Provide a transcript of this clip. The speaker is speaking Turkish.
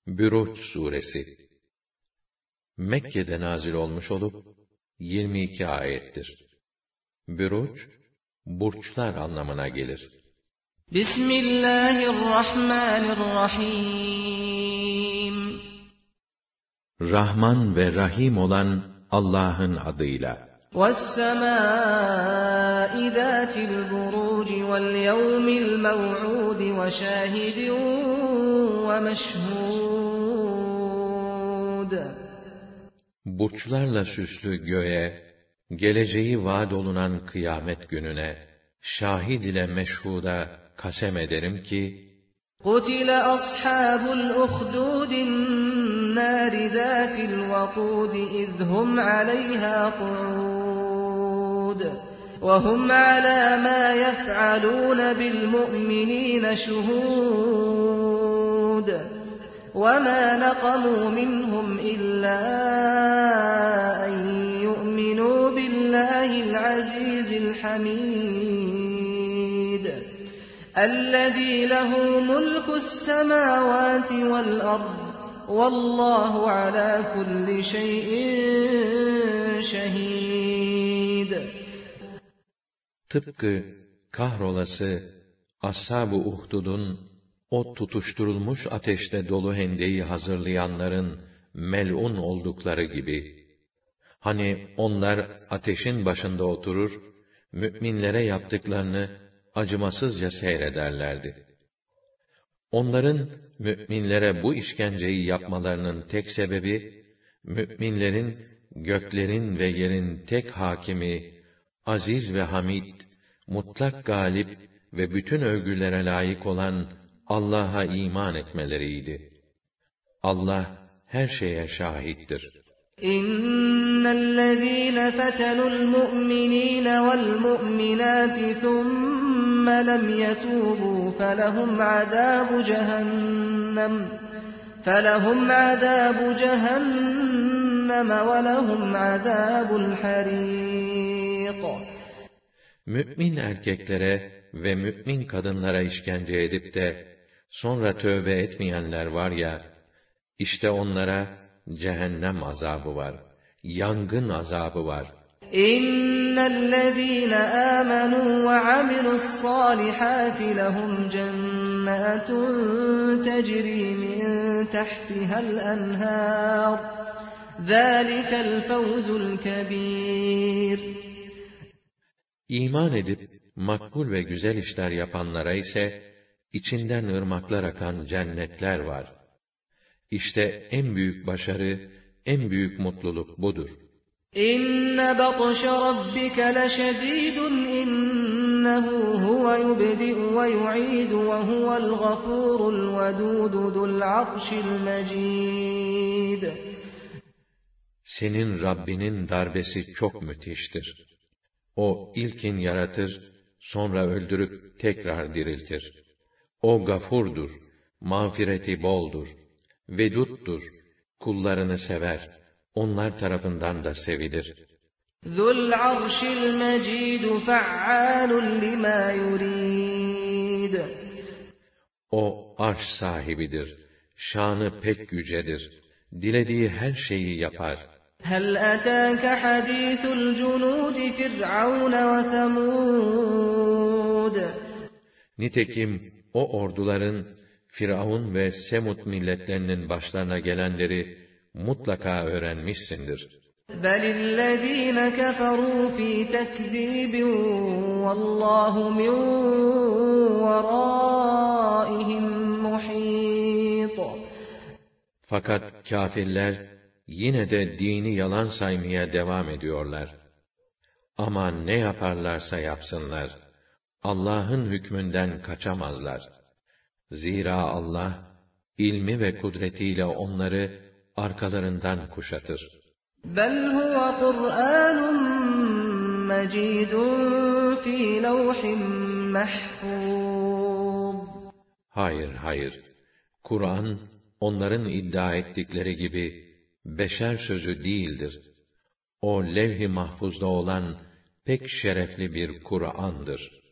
Büruç suresi Mekke'de nazil olmuş olup 22 ayettir. Büruç, burçlar anlamına gelir. Bismillahirrahmanirrahim. Rahman ve Rahim olan Allah'ın adıyla. وَالسَّمَاءِ ذَاتِ الْبُرُوجِ وَالْيَوْمِ الْمَوْعُودِ وَشَاهِدٍ وَمَشْهُودٍ. Burçlarla süslü göğe, geleceği vaad olunan kıyamet gününe, şahid ile meşhuda kasem ederim ki, قُتِلَ أَصْحَابُ الْأُخْدُودِ النَّارِ ذَاتِ الْوَقُودِ إِذْ هُمْ عَلَيْهَا قُعُودٌ وَهُمْ عَلَى مَا يَفْعَلُونَ بِالْمُؤْمِنِينَ شُهُودٌ وَمَا نَقَمُوا مِنْهُمْ إِلَّا أَنْ يُؤْمِنُوا بِاللَّهِ الْعَزِيزِ الْحَمِيدِ الَّذِي لَهُ مُلْكُ السَّمَاوَاتِ وَالْأَرْضِ وَاللّٰهُ عَلَى كُلِّ شَيْءٍ شَهِيدٌ. Tıpkı kahrolası Ashab-ı Uhdud'un o tutuşturulmuş ateşte dolu hendeyi hazırlayanların mel'un oldukları gibi, hani onlar ateşin başında oturur, müminlere yaptıklarını acımasızca seyrederlerdi. Onların müminlere bu işkenceyi yapmalarının tek sebebi, müminlerin göklerin ve yerin tek hakimi, aziz ve hamid, mutlak galip ve bütün övgülere layık olan Allah'a iman etmeleriydi. Allah her şeye şahittir. İnnellezîne fetenul mu'minîne vel mu'minâti thumme lem yetûbû felehum azâbu cehennem ve lehum azâbul harîq. Mümin erkeklere ve mümin kadınlara işkence edip de sonra tövbe etmeyenler var ya, işte onlara cehennem azabı var, yangın azabı var. İnnellezîne âmenû ve amilussâlihâti lehum cennâtun tecrî min tahtihal enhâr. Zâlikel fevzul kebîr. İman edip makbul ve güzel işler yapanlara ise içinden ırmaklar akan cennetler var. İşte en büyük başarı, en büyük mutluluk budur. İnne batşe rabbike leşedîdun innehu huve yubdi'u ve yu'idu ve huvel gafurul vedûdu zul arşil mecîd. Senin Rabbinin darbesi çok müthiştir. O ilkin yaratır, sonra öldürüp tekrar diriltir. O gafurdur, mağfireti boldur, veduttur, kullarını sever, onlar tarafından da sevilir. Zul arşil mecid fe'alun lima yurid. O arş sahibidir, şanı pek yücedir, dilediği her şeyi yapar. هل أتاك حديث الجنود فرعون وثمود. Nitekim o orduların Firavun ve Semud milletlerinin başlarına gelenleri mutlaka öğrenmişsindir. بل الذين كفروا في تكذيب والله من ورائهم محيط. Fakat kâfirler yine de dini yalan saymaya devam ediyorlar. Ama ne yaparlarsa yapsınlar, Allah'ın hükmünden kaçamazlar. Zira Allah, ilmi ve kudretiyle onları arkalarından kuşatır. بَلْ هُوَ قُرْآنٌ مَجِيدٌ فِي لَوْحٍ مَحْفُوظٍ. Hayır, Kur'an, onların iddia ettikleri gibi, beşer sözü değildir. O levh-i mahfuzda olan pek şerefli bir Kur'an'dır.